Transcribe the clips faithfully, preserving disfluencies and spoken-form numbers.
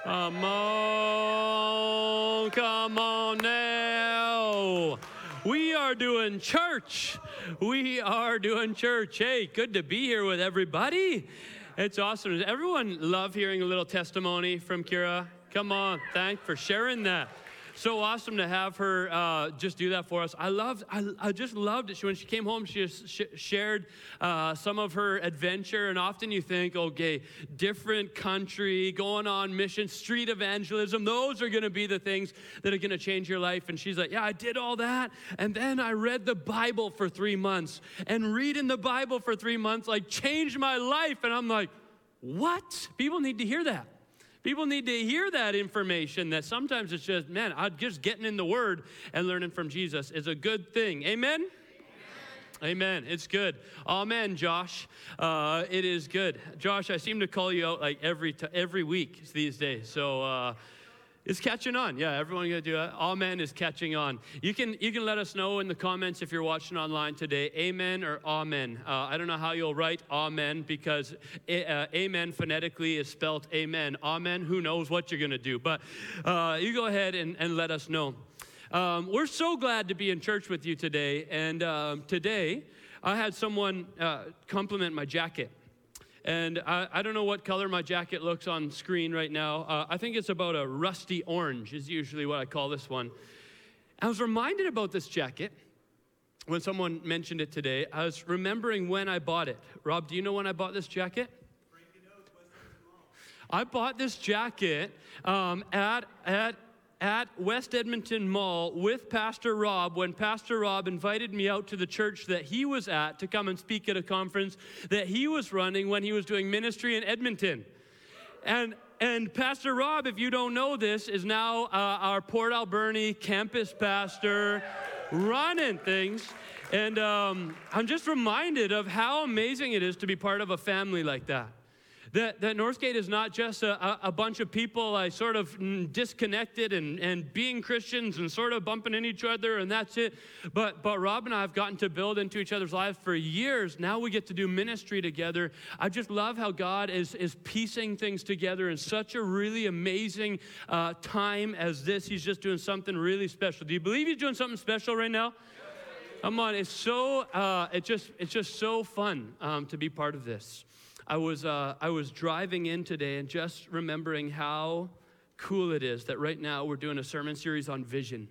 Come on, come on now. We are doing church. We are doing church. Hey, good to be here with everybody. It's awesome. Does everyone love hearing a little testimony from Kira? Come on, thanks for sharing that. So awesome to have her uh, just do that for us. I loved, I, I just loved it. She, when she came home, she just sh- shared uh, some of her adventure. And often you think, okay, different country, going on mission, street evangelism. Those are going to be the things that are going to change your life. And she's like, yeah, I did all that. And then I read the Bible for three months. And reading the Bible for three months, like, changed my life. And I'm like, what? People need to hear that. People need to hear that information, that sometimes it's just, man, just getting in the Word and learning from Jesus is a good thing. Amen? Amen. Amen. It's good. Amen, Josh. Uh, it is good. Josh, I seem to call you out like every t- every week these days. So uh, it's catching on. Yeah, everyone gonna do it. Amen is catching on. You can you can let us know in the comments if you're watching online today, amen or amen. Uh, I don't know how you'll write amen because a, uh, amen phonetically is spelled amen. Amen, who knows what you're going to do. But uh, you go ahead and, and let us know. Um, we're so glad to be in church with you today. And um, today I had someone uh, compliment my jacket. And I, I don't know what color my jacket looks on screen right now. Uh, I think it's about a rusty orange is usually what I call this one. I was reminded about this jacket when someone mentioned it today. I was remembering when I bought it. Rob, do you know when I bought this jacket? I bought this jacket um, at at. at West Edmonton Mall with Pastor Rob when Pastor Rob invited me out to the church that he was at to come and speak at a conference that he was running when he was doing ministry in Edmonton. And and Pastor Rob, if you don't know this, is now uh, our Port Alberni campus pastor running things. And um, I'm just reminded of how amazing it is to be part of a family like that. That, that Northgate is not just a, a bunch of people I sort of disconnected and, and being Christians and sort of bumping into each other and that's it. But but Rob and I have gotten to build into each other's lives for years. Now we get to do ministry together. I just love how God is, is piecing things together in such a really amazing uh, time as this. He's just doing something really special. Do you believe he's doing something special right now? Come on, it's so, uh, it just, it's just so fun um, to be part of this. I was uh, I was driving in today and just remembering how cool it is that right now we're doing a sermon series on vision.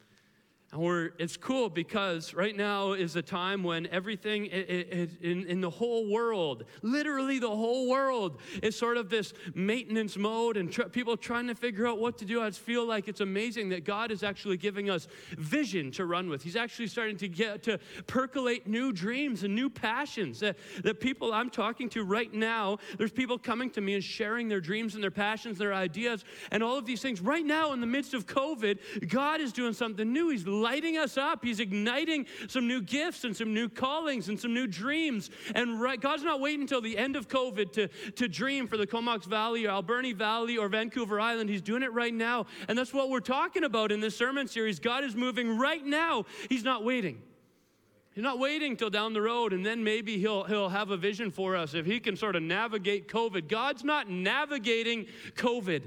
And we're, it's cool because right now is a time when everything it, it, in, in the whole world, literally the whole world, is sort of this maintenance mode and tr- people trying to figure out what to do. I just feel like it's amazing that God is actually giving us vision to run with. He's actually starting to get to percolate new dreams and new passions. That, that people I'm talking to right now, there's people coming to me and sharing their dreams and their passions, their ideas, and all of these things. Right now in the midst of COVID, God is doing something new. He's lighting us up. He's igniting some new gifts and some new callings and some new dreams. And right, God's not waiting until the end of COVID to, to dream for the Comox Valley or Alberni Valley or Vancouver Island. He's doing it right now. And that's what we're talking about in this sermon series. God is moving right now. He's not waiting. He's not waiting till down the road, and then maybe he'll he'll have a vision for us if he can sort of navigate COVID. God's not navigating COVID.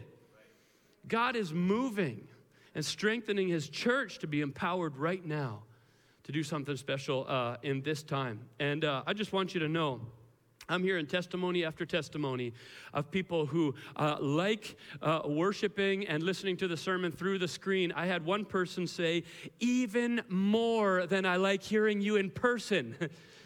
God is moving and strengthening his church to be empowered right now to do something special uh, in this time. And uh, I just want you to know, I'm hearing testimony after testimony of people who uh, like uh, worshiping and listening to the sermon through the screen. I had one person say, even more than I like hearing you in person.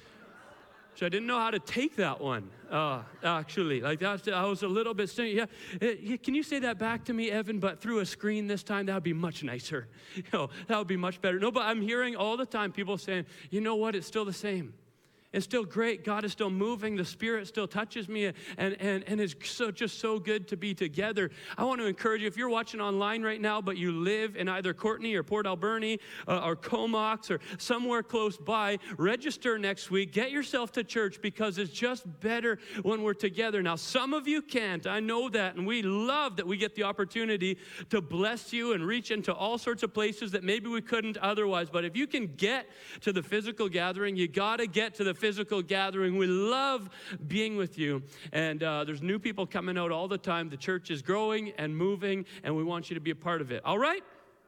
So I didn't know how to take that one, uh, actually. Like that, I was a little bit saying, yeah, yeah, can you say that back to me, Evan, but through a screen this time? That would be much nicer. You know, that would be much better. No, but I'm hearing all the time people saying, you know what, it's still the same. It's still great. God is still moving. The Spirit still touches me, and, and, and it's so just so good to be together. I want to encourage you, if you're watching online right now, but you live in either Courtenay or Port Alberni uh, or Comox or somewhere close by, register next week. Get yourself to church because it's just better when we're together. Now, some of you can't. I know that, and we love that we get the opportunity to bless you and reach into all sorts of places that maybe we couldn't otherwise. But if you can get to the physical gathering, you got to get to the physical gathering. We love being with you. And uh, there's new people coming out all the time. The church is growing and moving, and we want you to be a part of it. All right?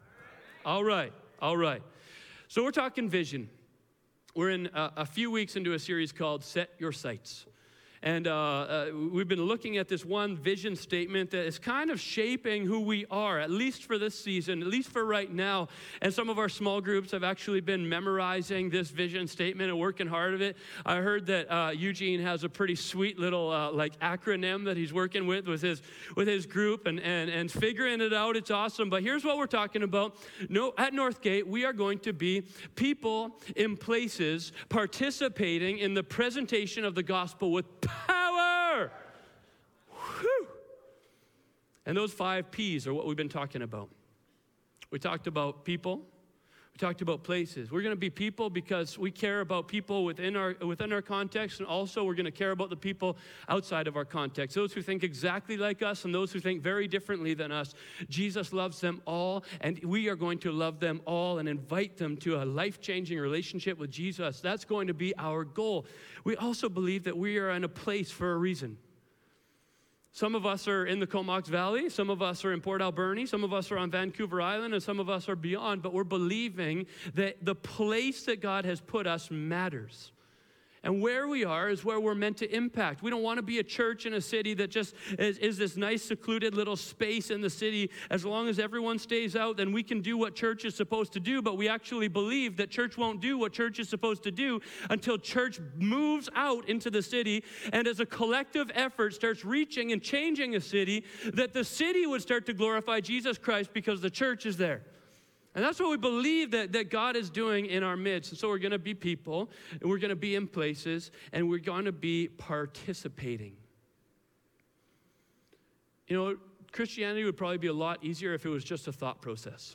All right. All right. So we're talking vision. We're in a, a few weeks into a series called Set Your Sights. And uh, uh, we've been looking at this one vision statement that is kind of shaping who we are, at least for this season, at least for right now. And some of our small groups have actually been memorizing this vision statement and working hard at it. I heard that uh, Eugene has a pretty sweet little uh, like acronym that he's working with with his with his group and, and, and figuring it out. It's awesome. But here's what we're talking about. No, at Northgate, we are going to be people in places participating in the presentation of the gospel with power. Whew. And those five P's are what we've been talking about. We talked about people. We talked about places. We're going to be people because we care about people within our within our context, and also we're going to care about the people outside of our context. Those who think exactly like us and those who think very differently than us. Jesus loves them all, and we are going to love them all and invite them to a life-changing relationship with Jesus. That's going to be our goal. We also believe that we are in a place for a reason. Some of us are in the Comox Valley, some of us are in Port Alberni, some of us are on Vancouver Island, and some of us are beyond, but we're believing that the place that God has put us matters. And where we are is where we're meant to impact. We don't want to be a church in a city that just is, is this nice, secluded little space in the city. As long as everyone stays out, then we can do what church is supposed to do. But we actually believe that church won't do what church is supposed to do until church moves out into the city. And as a collective effort starts reaching and changing a city, that the city would start to glorify Jesus Christ because the church is there. And that's what we believe that, that God is doing in our midst. And so we're going to be people, and we're going to be in places, and we're going to be participating. You know, Christianity would probably be a lot easier if it was just a thought process.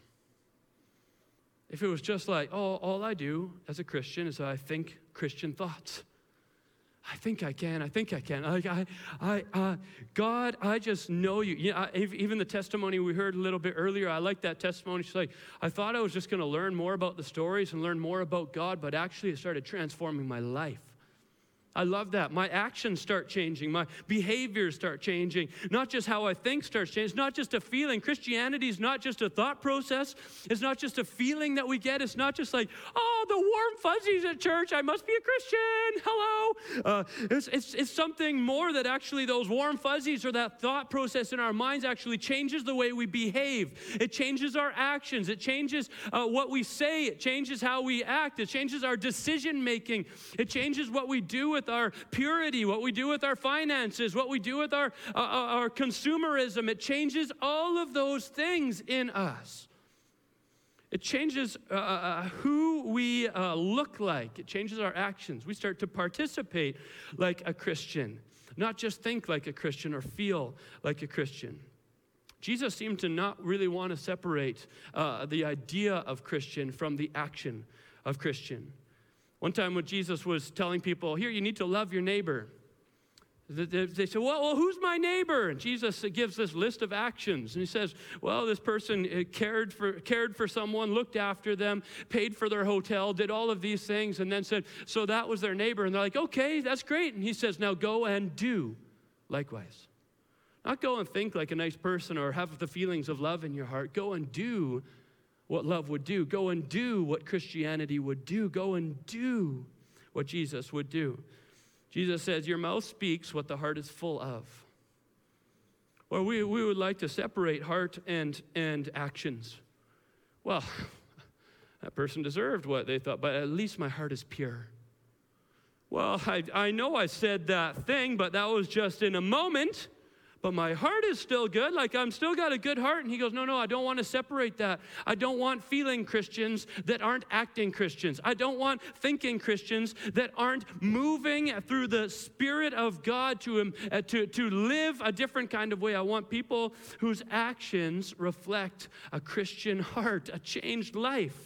If it was just like, oh, all I do as a Christian is I think Christian thoughts. I think I can. I think I can. Like I, I, uh, God, I just know you. You know, I, even the testimony we heard a little bit earlier, I like that testimony. She's like, I thought I was just going to learn more about the stories and learn more about God, but actually it started transforming my life. I love that. My actions start changing. My behaviors start changing. Not just how I think starts changing. It's not just a feeling. Christianity is not just a thought process. It's not just a feeling that we get. It's not just like, oh, the warm fuzzies at church. I must be a Christian. Hello. Uh, it's, it's, it's something more that actually those warm fuzzies or that thought process in our minds actually changes the way we behave. It changes our actions. It changes uh, what we say. It changes how we act. It changes our decision making. It changes what we do with our purity, what we do with our finances, what we do with our, uh, our consumerism. It changes all of those things in us. It changes uh, uh, who we uh, look like. It changes our actions. We start to participate like a Christian, not just think like a Christian or feel like a Christian. Jesus seemed to not really want to separate uh, the idea of Christian from the action of Christian. One time when Jesus was telling people, here, you need to love your neighbor. They said, well, well, who's my neighbor? And Jesus gives this list of actions. And he says, well, this person cared for cared for someone, looked after them, paid for their hotel, did all of these things, and then said, so that was their neighbor. And they're like, okay, that's great. And he says, now go and do likewise. Not go and think like a nice person or have the feelings of love in your heart. Go and do what love would do. Go and do what Christianity would do. Go and do what Jesus would do. Jesus says, your mouth speaks what the heart is full of. Well, we, we would like to separate heart and, and actions. Well, that person deserved what they thought, but at least my heart is pure. Well, I, I know I said that thing, but that was just in a moment. But my heart is still good, like I'm still got a good heart. And he goes, no, no, I don't want to separate that. I don't want feeling Christians that aren't acting Christians. I don't want thinking Christians that aren't moving through the Spirit of God to, um, uh, to, to live a different kind of way. I want people whose actions reflect a Christian heart, a changed life.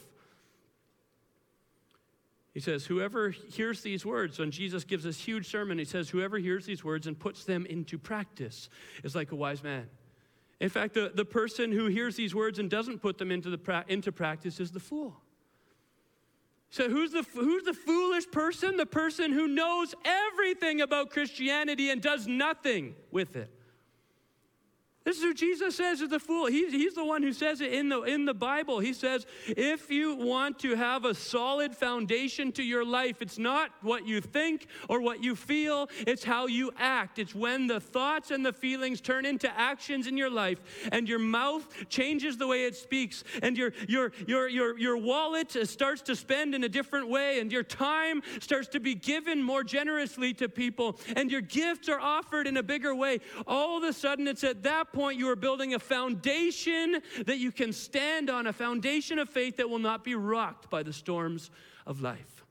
He says, whoever hears these words, when Jesus gives this huge sermon, he says, whoever hears these words and puts them into practice is like a wise man. In fact, the, the person who hears these words and doesn't put them into, the pra- into practice is the fool. So who's the, who's the foolish person? The person who knows everything about Christianity and does nothing with it. This is who Jesus says is the fool. He's, he's the one who says it in the, in the Bible. He says, if you want to have a solid foundation to your life, it's not what you think or what you feel, it's how you act. It's when the thoughts and the feelings turn into actions in your life, and your mouth changes the way it speaks, and your, your, your, your, your wallet starts to spend in a different way, and your time starts to be given more generously to people, and your gifts are offered in a bigger way. All of a sudden, it's at that point you are building a foundation that you can stand on, a foundation of faith that will not be rocked by the storms of life.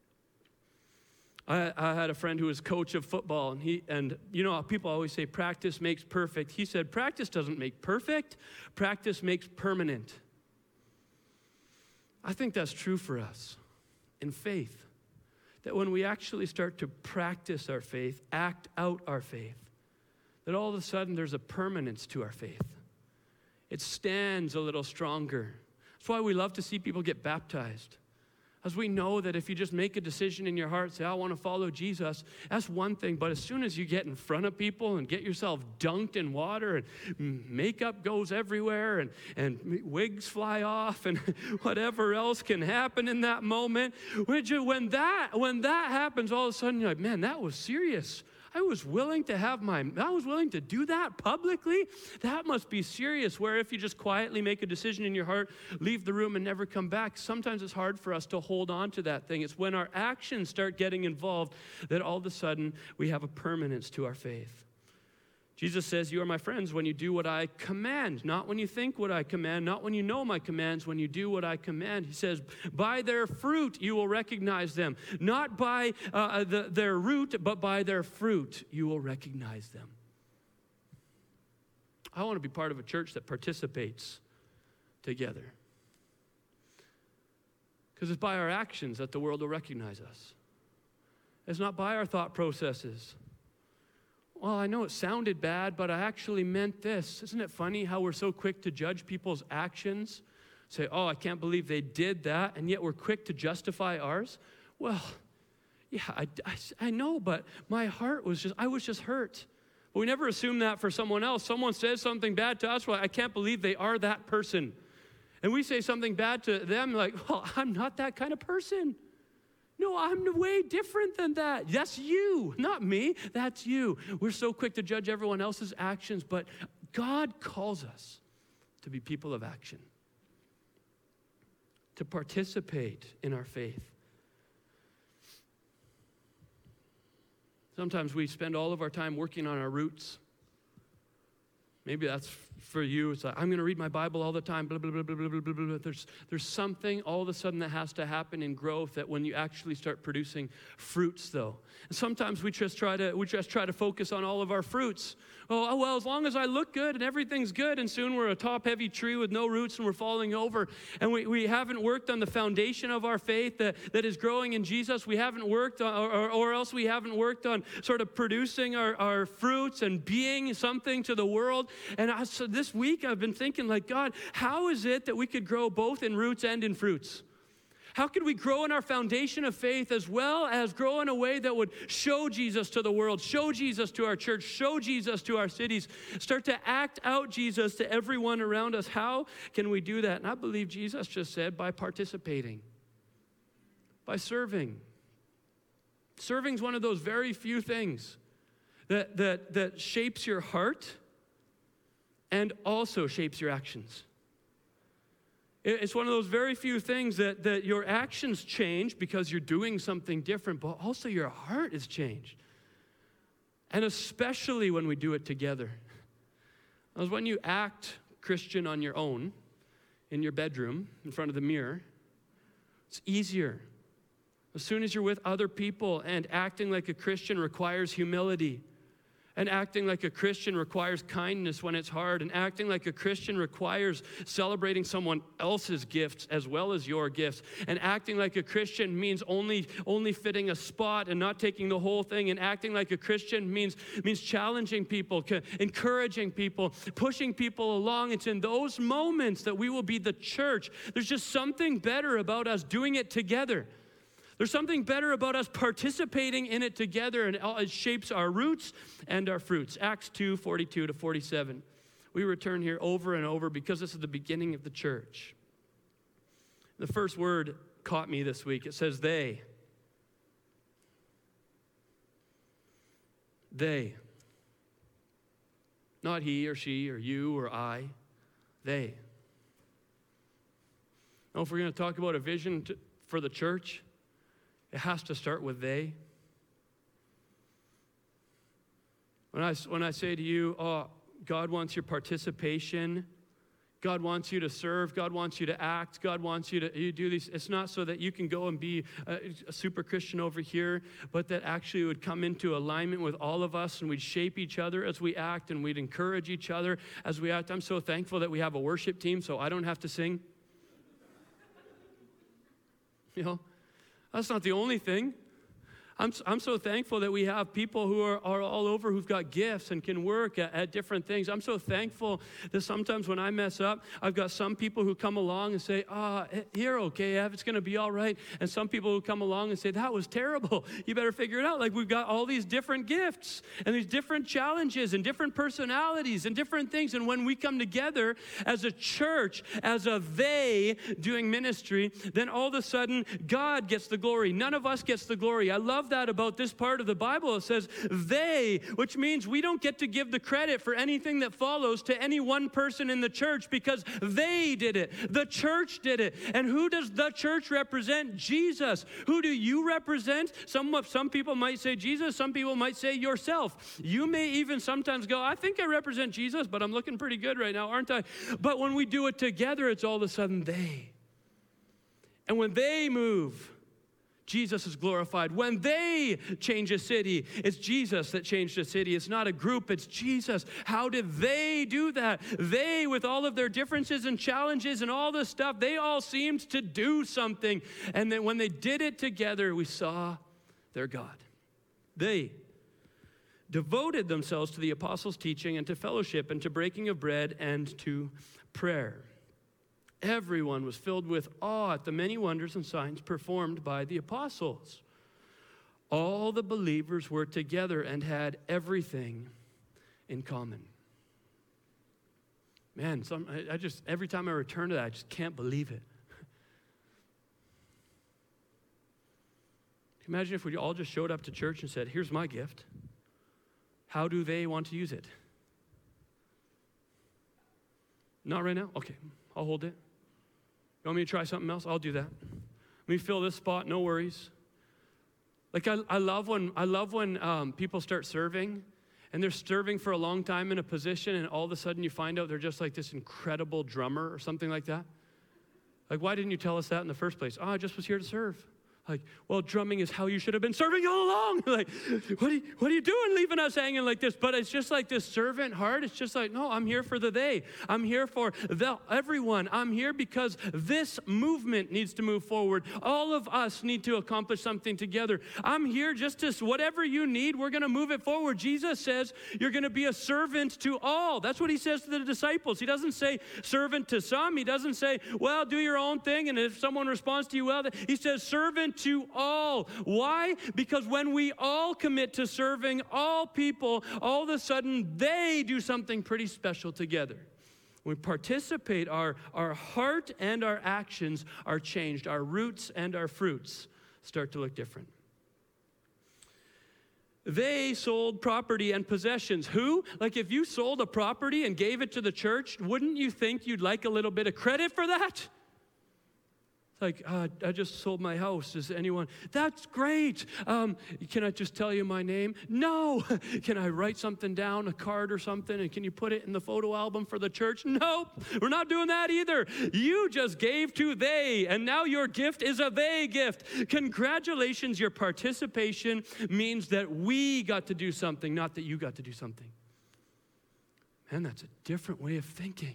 I, I had a friend who was coach of football, and he and you know people always say practice makes perfect. He said practice doesn't make perfect, practice makes permanent. I think that's true for us in faith, that when we actually start to practice our faith, act out our faith, that all of a sudden there's a permanence to our faith. It stands a little stronger. That's why we love to see people get baptized. As we know that if you just make a decision in your heart, say, I want to follow Jesus, that's one thing. But as soon as you get in front of people and get yourself dunked in water and makeup goes everywhere and, and wigs fly off and whatever else can happen in that moment, when that, when that happens, all of a sudden you're like, man, that was serious. I was willing to have my, I was willing to do that publicly? That must be serious. Where if you just quietly make a decision in your heart, leave the room and never come back, sometimes it's hard for us to hold on to that thing. It's when our actions start getting involved that all of a sudden we have a permanence to our faith. Jesus says, you are my friends when you do what I command, not when you think what I command, not when you know my commands, when you do what I command. He says, by their fruit you will recognize them. Not by uh, the, their root, but by their fruit you will recognize them. I want to be part of a church that participates together. Because it's by our actions that the world will recognize us. It's not by our thought processes. Well, I know it sounded bad, but I actually meant this. Isn't it funny how we're so quick to judge people's actions? Say, oh, I can't believe they did that, and yet we're quick to justify ours? Well, yeah, I, I, I know, but my heart was just, I was just hurt. But we never assume that for someone else. Someone says something bad to us, well, I can't believe they are that person. And we say something bad to them, like, well, I'm not that kind of person. No, I'm way different than that. That's you, not me. That's you. We're so quick to judge everyone else's actions, but God calls us to be people of action, to participate in our faith. Sometimes we spend all of our time working on our roots. Maybe that's for you. It's like, I'm going to read my Bible all the time, blah, blah, blah, blah, blah, blah, blah, blah. There's, there's something all of a sudden that has to happen in growth that when you actually start producing fruits, though. And sometimes we just try to, we just try to focus on all of our fruits. Oh, well, as long as I look good and everything's good, and soon we're a top-heavy tree with no roots and we're falling over. And we, we haven't worked on the foundation of our faith that, that is growing in Jesus. We haven't worked on, or, or else we haven't worked on sort of producing our, our fruits and being something to the world. And I, so this week I've been thinking, like, God, how is it that we could grow both in roots and in fruits? How could we grow in our foundation of faith as well as grow in a way that would show Jesus to the world, show Jesus to our church, show Jesus to our cities, start to act out Jesus to everyone around us? How can we do that? And I believe Jesus just said by participating, by serving. Serving is one of those very few things that, that, that shapes your heart and also shapes your actions. It's one of those very few things that, that your actions change because you're doing something different, but also your heart is changed. And especially when we do it together. Because when you act Christian on your own, in your bedroom, in front of the mirror, it's easier. As soon as you're with other people and acting like a Christian requires humility, And acting like a Christian requires kindness when it's hard. And acting like a Christian requires celebrating someone else's gifts as well as your gifts. And acting like a Christian means only, only fitting a spot and not taking the whole thing. And acting like a Christian means, means challenging people, encouraging people, pushing people along. It's in those moments that we will be the church. There's just something better about us doing it together. There's something better about us participating in it together, and it shapes our roots and our fruits. Acts two, forty-two to forty-seven. We return here over and over because this is the beginning of the church. The first word caught me this week. It says they. They. Not he or she or you or I. They. Now, if we're going to talk about a vision to, for the church, it has to start with they. When I, when I say to you, oh, God wants your participation, God wants you to serve, God wants you to act, God wants you to you do these, it's not so that you can go and be a, a super Christian over here, but that actually would come into alignment with all of us, and we'd shape each other as we act, and we'd encourage each other as we act. I'm so thankful that we have a worship team so I don't have to sing. You know? That's not the only thing. I'm, I'm so thankful that we have people who are, are all over who've got gifts and can work at, at different things. I'm so thankful that sometimes when I mess up, I've got some people who come along and say, ah, oh, you're okay, Ev, it's going to be all right. And some people who come along and say, that was terrible. You better figure it out. Like, we've got all these different gifts and these different challenges and different personalities and different things. And when we come together as a church, as a they doing ministry, then all of a sudden, God gets the glory. None of us gets the glory. I love that about this part of the Bible. It says they, which means we don't get to give the credit for anything that follows to any one person in the church because they did it. The church did it. And who does the church represent? Jesus. Who do you represent? Some, some people might say Jesus. Some people might say yourself. You may even sometimes go, I think I represent Jesus, but I'm looking pretty good right now, aren't I? But when we do it together, it's all of a sudden they. And when they move, Jesus is glorified. When they change a city, it's Jesus that changed a city. It's not a group, it's Jesus. How did they do that? They, with all of their differences and challenges and all this stuff, they all seemed to do something. And then when they did it together, we saw their God. They devoted themselves to the apostles' teaching and to fellowship and to breaking of bread and to prayer. Everyone was filled with awe at the many wonders and signs performed by the apostles. All the believers were together and had everything in common. Man, some, I, I just, every time I return to that, I just can't believe it. Imagine if we all just showed up to church and said, here's my gift. How do they want to use it? Not right now? Okay, I'll hold it. You want me to try something else? I'll do that. Let me fill this spot, no worries. Like I, I love when I love when um, people start serving, and they're serving for a long time in a position, and all of a sudden you find out they're just like this incredible drummer or something like that. Like, why didn't you tell us that in the first place? Oh, I just was here to serve. Like, well, drumming is how you should have been serving all along. Like, what are, you, what are you doing leaving us hanging like this? But it's just like this servant heart. It's just like, no, I'm here for the they. I'm here for the everyone. I'm here because this movement needs to move forward. All of us need to accomplish something together. I'm here just to, whatever you need, we're going to move it forward. Jesus says you're going to be a servant to all. That's what he says to the disciples. He doesn't say servant to some. He doesn't say, well, do your own thing, and if someone responds to you well, he says servant to all. Why? Because when we all commit to serving all people, all of a sudden they do something pretty special together. When we participate, our, our heart and our actions are changed. Our roots and our fruits start to look different. They sold property and possessions. Who? Like if you sold a property and gave it to the church, wouldn't you think you'd like a little bit of credit for that? Like, uh, I just sold my house. Does anyone? That's great. Um, can I just tell you my name? No. Can I write something down, a card or something, and can you put it in the photo album for the church? Nope. We're not doing that either. You just gave to they, and now your gift is a they gift. Congratulations, your participation means that we got to do something, not that you got to do something. Man, that's a different way of thinking.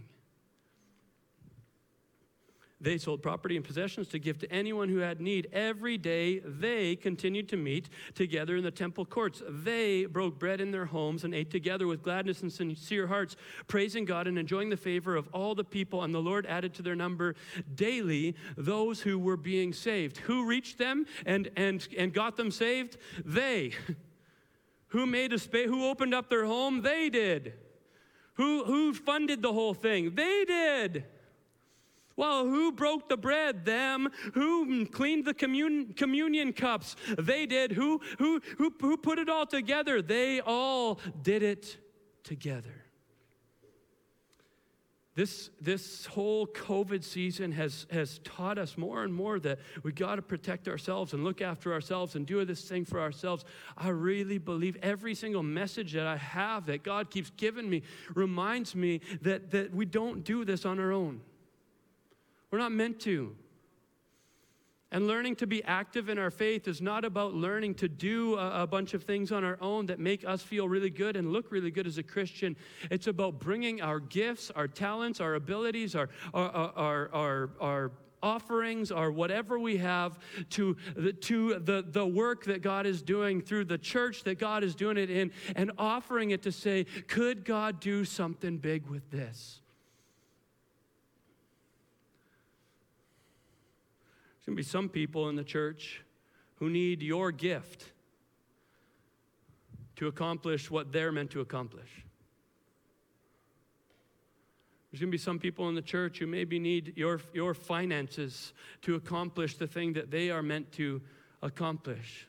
They sold property and possessions to give to anyone who had need. Every day, they continued to meet together in the temple courts. They broke bread in their homes and ate together with gladness and sincere hearts, praising God and enjoying the favor of all the people. And the Lord added to their number daily those who were being saved. Who reached them and, and, and got them saved? They. Who made a space? Who opened up their home? They did. Who, who funded the whole thing? They did. Well, who broke the bread? Them. Who cleaned the commun- communion cups? They did. Who, who, who, who put it all together? They all did it together. This, this whole COVID season has, has taught us more and more that we got to protect ourselves and look after ourselves and do this thing for ourselves. I really believe every single message that I have that God keeps giving me reminds me that, that we don't do this on our own. We're not meant to. And learning to be active in our faith is not about learning to do a, a bunch of things on our own that make us feel really good and look really good as a Christian. It's about bringing our gifts, our talents, our abilities, our, our, our, our, our offerings, or whatever we have to, the, to the, the work that God is doing through the church that God is doing it in, and offering it to say, could God do something big with this? There's going to be some people in the church who need your gift to accomplish what they're meant to accomplish. There's going to be some people in the church who maybe need your, your finances to accomplish the thing that they are meant to accomplish.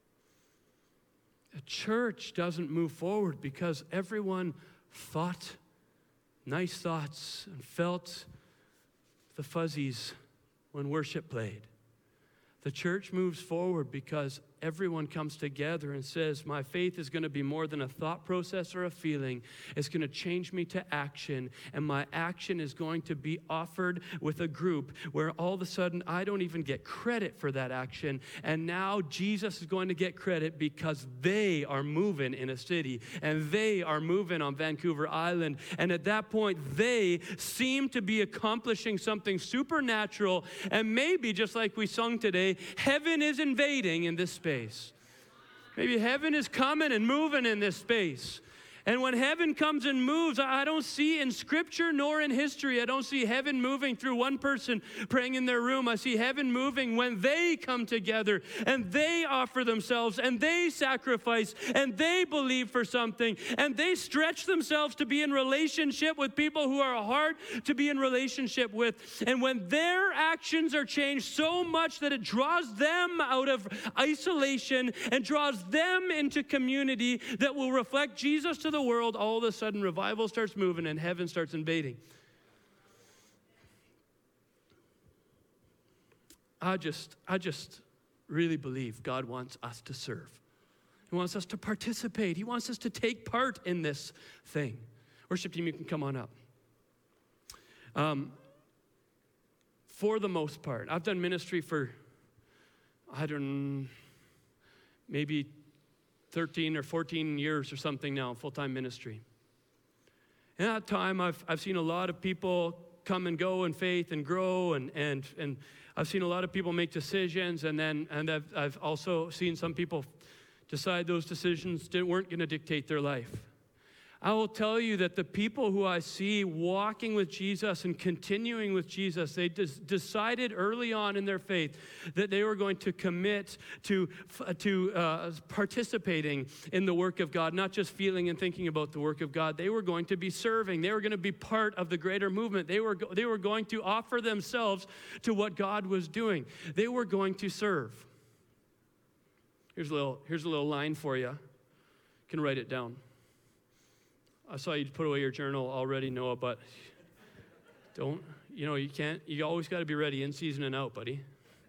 A church doesn't move forward because everyone thought nice thoughts and felt the fuzzies when worship played. The church moves forward because everyone comes together and says, my faith is going to be more than a thought process or a feeling. It's going to change me to action, and my action is going to be offered with a group where all of a sudden I don't even get credit for that action, and now Jesus is going to get credit because they are moving in a city, and they are moving on Vancouver Island, and at that point they seem to be accomplishing something supernatural, and maybe just like we sung today, heaven is invading in this space. Maybe heaven is coming and moving in this space. And when heaven comes and moves, I don't see in Scripture nor in history, I don't see heaven moving through one person praying in their room. I see heaven moving when they come together and they offer themselves and they sacrifice and they believe for something and they stretch themselves to be in relationship with people who are hard to be in relationship with. And when their actions are changed so much that it draws them out of isolation and draws them into community that will reflect Jesus to the the world, all of a sudden revival starts moving and heaven starts invading. I just, I just really believe God wants us to serve. He wants us to participate. He wants us to take part in this thing. Worship team, you can come on up. Um, for the most part, I've done ministry for, I don't, maybe thirteen or fourteen years or something now, full-time ministry. In that time, I've, I've seen a lot of people come and go in faith and grow, and, and, and I've seen a lot of people make decisions, and then and I've, I've also seen some people decide those decisions didn't, weren't going to dictate their life. I will tell you that the people who I see walking with Jesus and continuing with Jesus, they des- decided early on in their faith that they were going to commit to, to uh, participating in the work of God, not just feeling and thinking about the work of God. They were going to be serving. They were going to be part of the greater movement. They were, go- they were going to offer themselves to what God was doing. They were going to serve. Here's a little, here's a little line for you. You can write it down. I saw you put away your journal already, Noah, but don't, you know, you can't, you always got to be ready in season and out, buddy.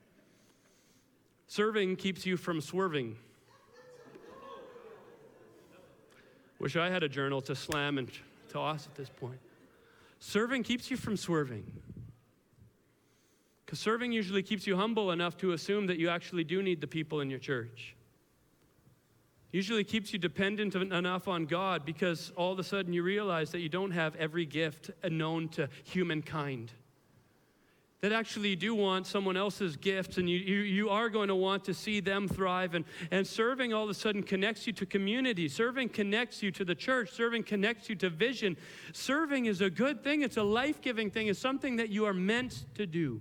Serving keeps you from swerving. Wish I had a journal to slam and toss at this point. Serving keeps you from swerving. Because serving usually keeps you humble enough to assume that you actually do need the people in your church. Usually keeps you dependent enough on God because all of a sudden you realize that you don't have every gift known to humankind. That actually you do want someone else's gifts, and you, you, you are going to want to see them thrive. And, and serving all of a sudden connects you to community. Serving connects you to the church. Serving connects you to vision. Serving is a good thing. It's a life-giving thing. It's something that you are meant to do.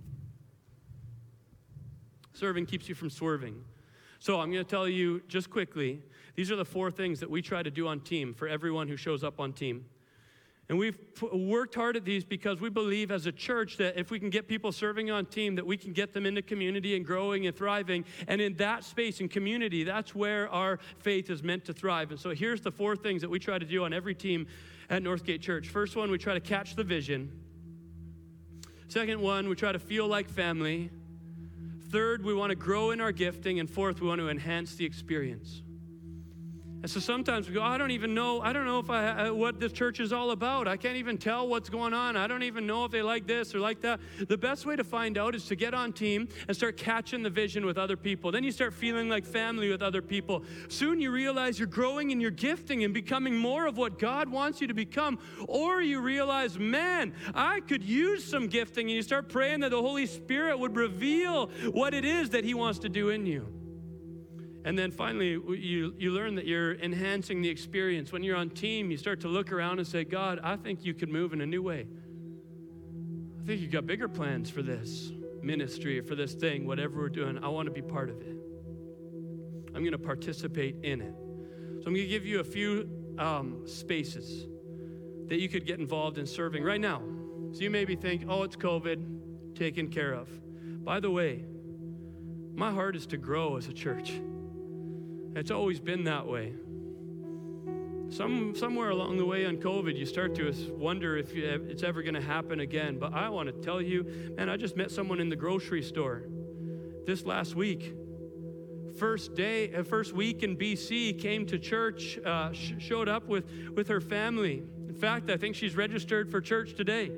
Serving keeps you from swerving. So I'm going to tell you just quickly, these are the four things that we try to do on team for everyone who shows up on team. And we've p- worked hard at these because we believe as a church that if we can get people serving on team, that we can get them into community and growing and thriving. And in that space, in community, that's where our faith is meant to thrive. And so here's the four things that we try to do on every team at Northgate Church. First one, we try to catch the vision. Second one, we try to feel like family. Third, we want to grow in our gifting. And fourth, we want to enhance the experience. And so sometimes we go, I don't even know, I don't know if I, what this church is all about. I can't even tell what's going on. I don't even know if they like this or like that. The best way to find out is to get on team and start catching the vision with other people. Then you start feeling like family with other people. Soon you realize you're growing in your gifting and becoming more of what God wants you to become. Or you realize, man, I could use some gifting. And you start praying that the Holy Spirit would reveal what it is that He wants to do in you. And then finally, you, you learn that you're enhancing the experience. When you're on team, you start to look around and say, God, I think you could move in a new way. I think you've got bigger plans for this ministry or for this thing, whatever we're doing. I want to be part of it. I'm going to participate in it. So I'm going to give you a few um, spaces that you could get involved in serving right now. So you maybe think, oh, it's COVID, taken care of. By the way, my heart is to grow as a church. It's always been that way. Some, somewhere along the way on COVID, you start to wonder if you, it's ever going to happen again. But I want to tell you, man, I just met someone in the grocery store this last week. First day, uh, first week in B C, came to church, uh, sh- showed up with, with her family. In fact, I think she's registered for church today.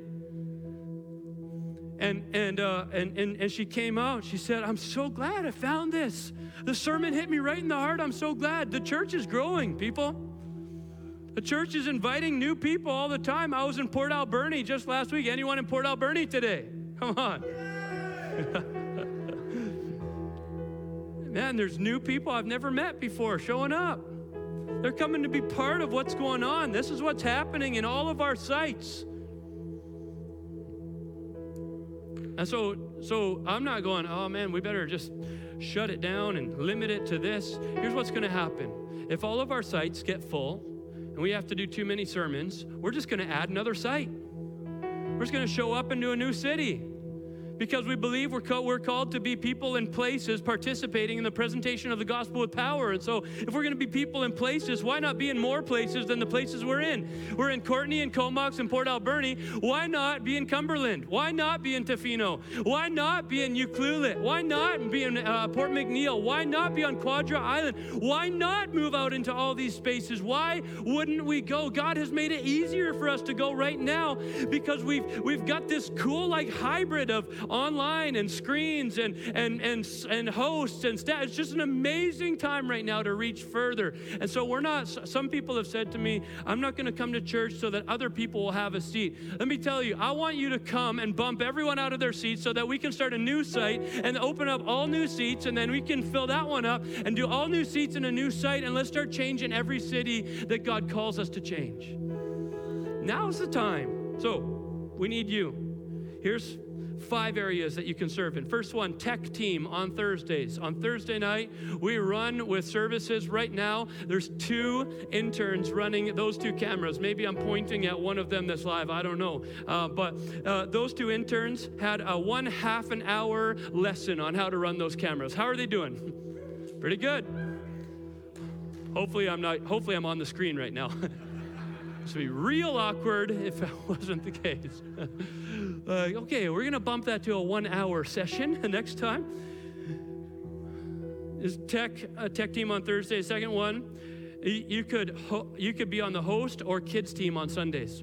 And and, uh, and and and she came out. She said, I'm so glad I found this. The sermon hit me right in the heart. I'm so glad. The church is growing, people. The church is inviting new people all the time. I was in Port Alberni just last week. Anyone in Port Alberni today? Come on. Man, there's new people I've never met before showing up. They're coming to be part of what's going on. This is what's happening in all of our sites. And so, so I'm not going, oh man, we better just shut it down and limit it to this. Here's what's going to happen. If all of our sites get full and we have to do too many sermons, we're just going to add another site. We're just going to show up into a new city. Because we believe we're, co- we're called to be people in places participating in the presentation of the gospel with power. And so if we're going to be people in places, why not be in more places than the places we're in? We're in Courtenay and Comox and Port Alberni. Why not be in Cumberland? Why not be in Tofino? Why not be in Ucluelet? Why not be in uh, Port McNeil? Why not be on Quadra Island? Why not move out into all these spaces? Why wouldn't we go? God has made it easier for us to go right now because we've we've got this cool like hybrid of online and screens and and and and hosts and staff. It's just an amazing time right now to reach further. And so we're not, some people have said to me, I'm not going to come to church so that other people will have a seat. Let me tell you, I want you to come and bump everyone out of their seats so that we can start a new site and open up all new seats, and then we can fill that one up and do all new seats in a new site, and let's start changing every city that God calls us to change. Now's the time. So we need you. Here's five areas that you can serve in. First one, tech team on Thursdays. On Thursday night, we run with services. Right now, there's two interns running those two cameras. Maybe I'm pointing at one of them that's live. I don't know. Uh, but uh, those two interns had a one half an hour lesson on how to run those cameras. How are they doing? Pretty good. Hopefully I'm not, hopefully I'm on the screen right now. This would be real awkward if it wasn't the case. Like, okay, we're going to bump that to a one-hour session next time. Is tech a tech team on Thursday? Second one, you, you could ho- you could be on the host or kids team on Sundays.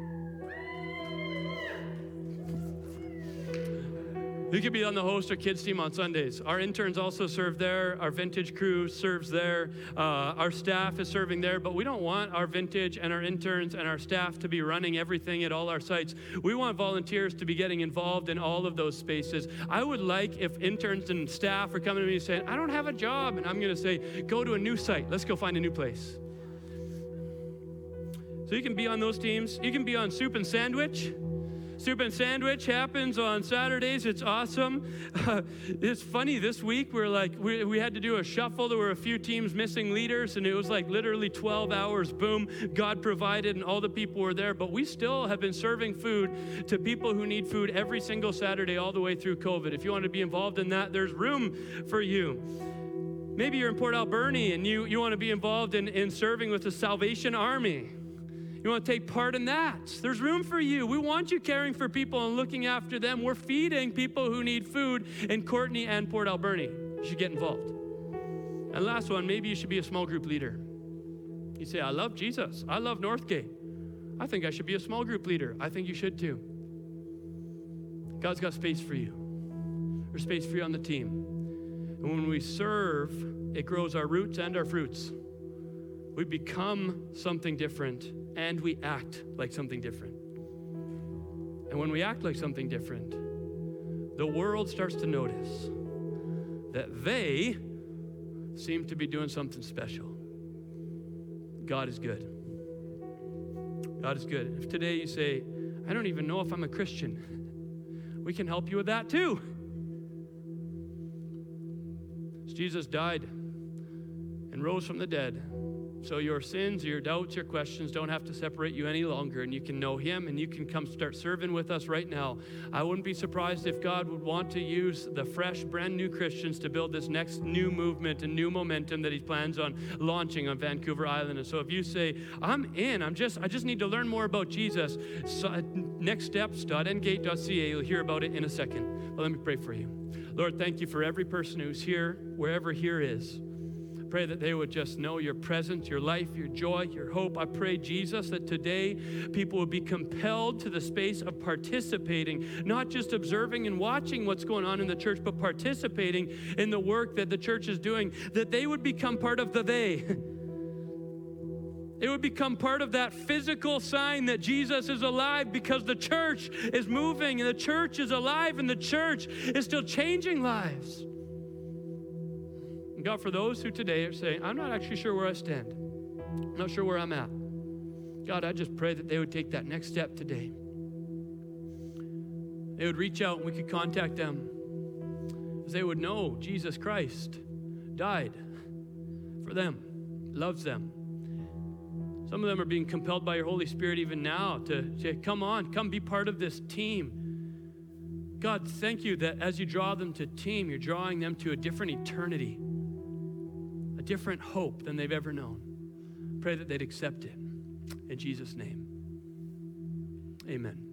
You could be on the host or kids team on Sundays. Our interns also serve there. Our vintage crew serves there. Uh, our staff is serving there. But we don't want our vintage and our interns and our staff to be running everything at all our sites. We want volunteers to be getting involved in all of those spaces. I would like if interns and staff are coming to me and saying, I don't have a job. And I'm going to say, go to a new site. Let's go find a new place. So you can be on those teams. You can be on Soup and Sandwich. Soup and Sandwich happens on Saturdays. It's awesome. Uh, it's funny, this week we're like, we, we had to do a shuffle. There were a few teams missing leaders, and it was like literally twelve hours, boom, God provided, and all the people were there. But we still have been serving food to people who need food every single Saturday all the way through COVID. If you want to be involved in that, there's room for you. Maybe you're in Port Alberni, and you, you want to be involved in, in serving with the Salvation Army. You want to take part in that. There's room for you. We want you caring for people and looking after them. We're feeding people who need food in Courtenay and Port Alberni. You should get involved. And last one, maybe you should be a small group leader. You say, I love Jesus. I love Northgate. I think I should be a small group leader. I think you should too. God's got space for you. There's space for you on the team. And when we serve, it grows our roots and our fruits. We become something different, and we act like something different. And when we act like something different, the world starts to notice that they seem to be doing something special. God is good. God is good. If today you say, I don't even know if I'm a Christian, we can help you with that too. Jesus died and rose from the dead. So your sins, your doubts, your questions don't have to separate you any longer, and you can know him, and you can come start serving with us right now. I wouldn't be surprised if God would want to use the fresh, brand new Christians to build this next new movement and new momentum that he plans on launching on Vancouver Island. And so if you say, I'm in, I'm just, I just need to learn more about Jesus, so, uh, nextsteps dot n gate dot c a, you'll hear about it in a second. But let me pray for you. Lord, thank you for every person who's here, wherever here is. Pray that they would just know your presence, your life, your joy, your hope. I pray, Jesus, that today people would be compelled to the space of participating, not just observing and watching what's going on in the church, but participating in the work that the church is doing, that they would become part of the they. It would become part of that physical sign that Jesus is alive, because the church is moving and the church is alive and the church is still changing lives. And God, for those who today are saying, I'm not actually sure where I stand, I'm not sure where I'm at, God, I just pray that they would take that next step today. They would reach out and we could contact them, as they would know Jesus Christ died for them, loves them. Some of them are being compelled by your Holy Spirit even now to say, come on, come be part of this team. God, thank you that as you draw them to team, you're drawing them to a different eternity, a different hope than they've ever known. Pray that they'd accept it. In Jesus' name, amen.